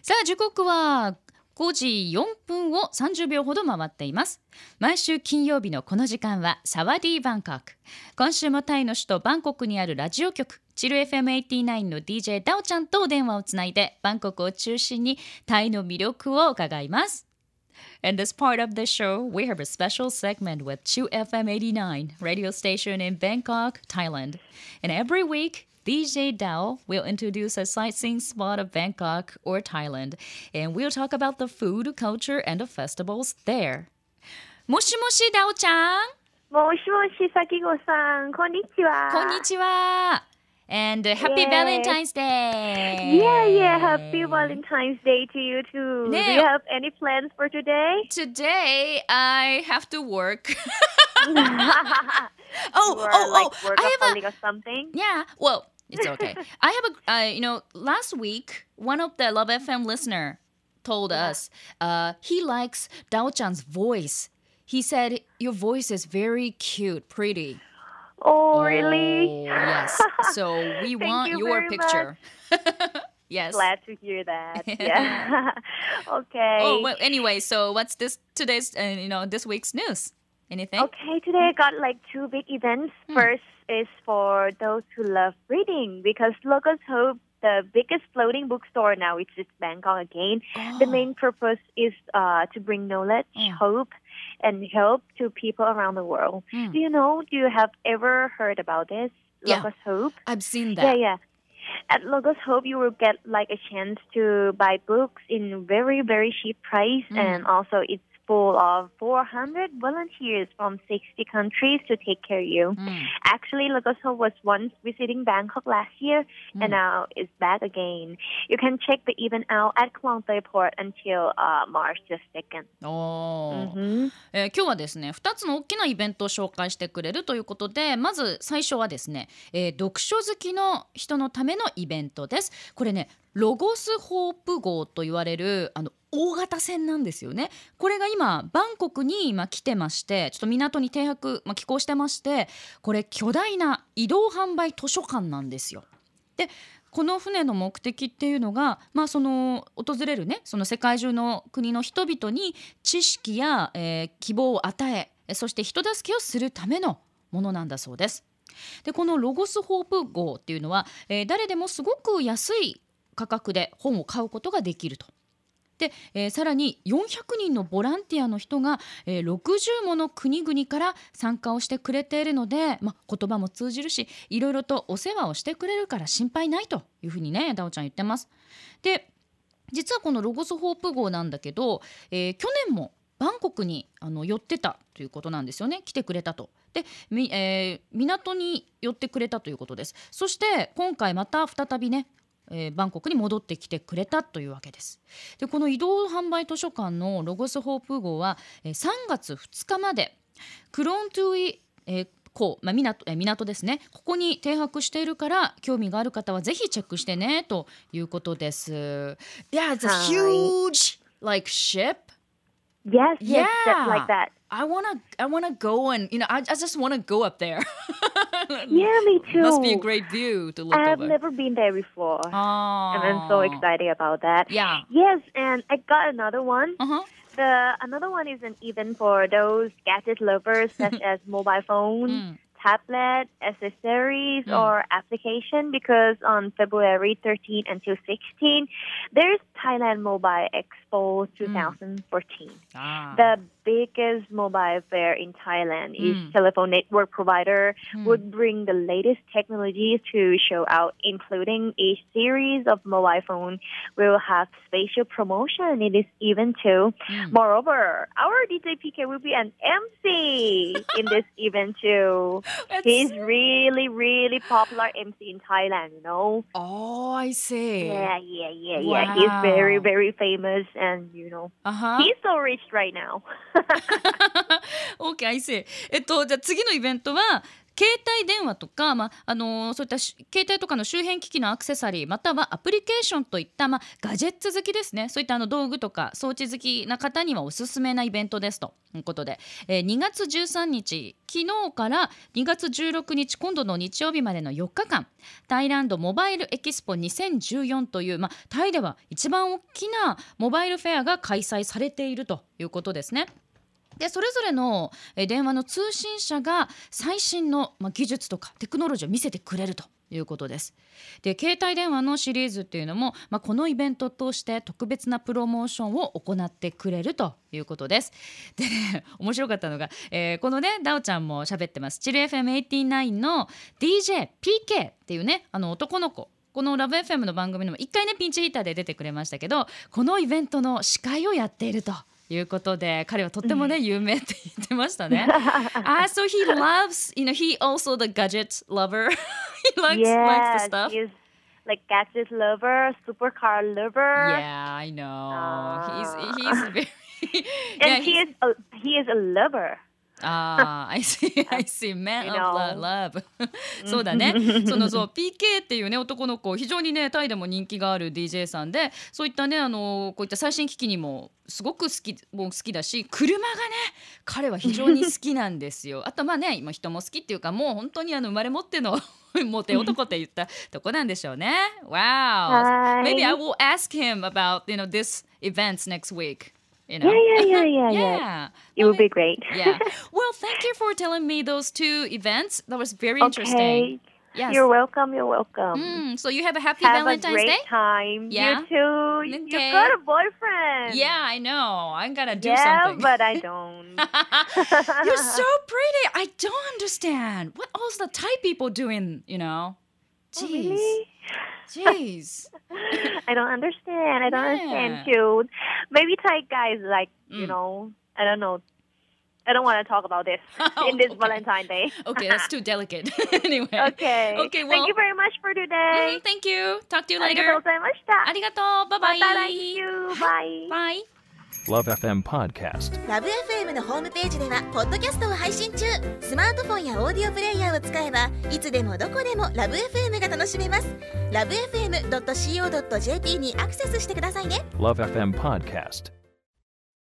さあ時刻は5時4分を30秒ほど回っています。毎週金曜日のこの時間はサワディーバンコク。今週もタイの首都バンコクにあるラジオ局チル FM89 の DJ ダオちゃんとお電話をつないでバンコクを中心にタイの魅力を伺います。In this part of the show, we have a special segment with Chu FM89 radio station in Bangkok, Thailand. And every week, DJ Dao will introduce a sightseeing spot of Bangkok or Thailand, and we'll talk about the food, culture, and the festivals there. もしもし、Dao ちゃん。 もしもし、さきごさん、こんにちは。 こんにちは。And happy Valentine's Day! Yeah, happy Valentine's Day to you too. Do you have any plans for today? Today, I have to work. Workaholic or something? Yeah, well, it's okay. I have last week, one of the Love FM listener told us he likes Dao-chan's voice. He said, your voice is very cute, pretty. Oh, really? Yes. So we want your picture. Yes. Glad to hear that. Yeah. Okay. Oh, well, anyway, so what's today's this week's news? Anything? Okay, today I got like two big events. First is for those who love reading because Locals Hope, the biggest floating bookstore now, it's just Bangkok again. The main purpose is to bring knowledge, hope, and help to people around the world. Do you have ever heard about this? Locals Hope? I've seen that. Yeah. At Locals Hope, you will get like a chance to buy books in very, very cheap price, and also it's full of 400 volunteers from 60 countries to take care of you. Actually, Locals Hope was once visiting Bangkok last year, and now it's back again. You can check the event out at Klong Toei Port until March the 2nd. 今日はですね、2つの大きなイベントを紹介してくれるということで、まず最初はですね、読書好きの人のためのイベントです。これね、ロゴスホープ号と言われる大型船なんですよね。これが今バンコクに来てまして、ちょっと港に停泊、寄港してまして、これ巨大な移動販売図書館なんですよ。でこの船の目的っていうのが、その訪れるね、その世界中の国の人々に知識や、希望を与え、そして人助けをするためのものなんだそうです。でこのロゴスホープ号っていうのは、誰でもすごく安い価格で本を買うことができると。で、さらに400人のボランティアの人が、60もの国々から参加をしてくれているので、言葉も通じるし、いろいろとお世話をしてくれるから心配ないというふうにね、ダオちゃん言ってます。で実はこのロゴスホープ号なんだけど、去年もバンコクに寄ってたということなんですよね。来てくれたと。で、港に寄ってくれたということです。そして今回また再びね、バンコクに戻ってきてくれたというわけです。でこの移動販売図書館のロゴスホープ号は3月2日までクロントゥイ、港ですね、ここに停泊しているから興味がある方はぜひチェックしてねということです。Yeah, it's a huge ship. Yes, just like that. I wanna go and I just wanna go up there. Yeah, me too. Must be a great view to look over. I've never been there before. And I'm so excited about that. Yeah. Yes, and I got another one. Uh-huh. Another one is an event for those gadget lovers such as mobile phone, tablet, accessories, or application because on February 13 until 16, there's Thailand Mobile Expo 2014. The biggest mobile fair in Thailand is telephone network provider would bring the latest technologies to show out, including each series of mobile phone will have special promotion in this event too. Moreover, our DJ PK will be an MC in this event too. He's really, really popular MC in Thailand, you know. Oh, I see. Yeah. Wow. He's very, very famous and, he's so rich right now. OK, I see. じゃあ次のイベントは携帯電話とか、そういった携帯とかの周辺機器のアクセサリーまたはアプリケーションといった、ガジェッツ好きですね、そういった道具とか装置好きな方にはおすすめなイベントですということで、2月13日昨日から2月16日今度の日曜日までの4日間タイランドモバイルエキスポ2014という、タイでは一番大きなモバイルフェアが開催されているということですね。でそれぞれの電話の通信社が最新の技術とかテクノロジーを見せてくれるということです。で携帯電話のシリーズっていうのも、このイベントを通して特別なプロモーションを行ってくれるということです。でね、面白かったのが、このねダオちゃんも喋ってますチル FM89 の DJPK っていうね男の子、このラブ FM の番組にも一回ねピンチヒッターで出てくれましたけど、このイベントの司会をやっているということで、彼はとってもね有名って言ってましたね。So he loves, he also the gadget lover. He likes the stuff. He's like gadget lover, supercar lover. Yeah, I know. He's very and he is a lover. I see. Man of love. そうだね。そうPK っていうね男の子、非常にねタイでも人気がある DJ さんで、そういったねこういった最新機器にもすごく好きだし、車がね彼は非常に好きなんですよ。あと今人も好きっていうか、もう本当に生まれ持ってのモテ男って言ったとこなんでしょうね。Wow. Maybe I will ask him about this events next week. Yeah. It would be great. Yeah. Well, thank you for telling me those two events. That was very interesting. Yes. You're welcome. So you have a happy Valentine's Day? Have a great time. Yeah. You too. Okay. You've got a boyfriend. Yeah, I know. I'm gonna do something. Yeah, but I don't. You're so pretty. I don't understand. What else the Thai people doing, Jeez. Oh, really? Jeez. I don't understand too. Maybe Thai guys like, I don't know. I don't want to talk about this in this Valentine's Day. Okay, that's too delicate. Anyway. Okay. Well, thank you very much for today. Thank you. Talk to you later. ありがとうございました。 ありがとう。Bye bye. また来週。Bye. Bye. Love FM Podcast。 ラブ FM のホームページではポッドキャストを配信中。スマートフォンやオーディオプレイヤーを使えばいつでもどこでもラブ FM が楽しめます。ラブ FM.co.jp にアクセスしてくださいね。 Love FM Podcast。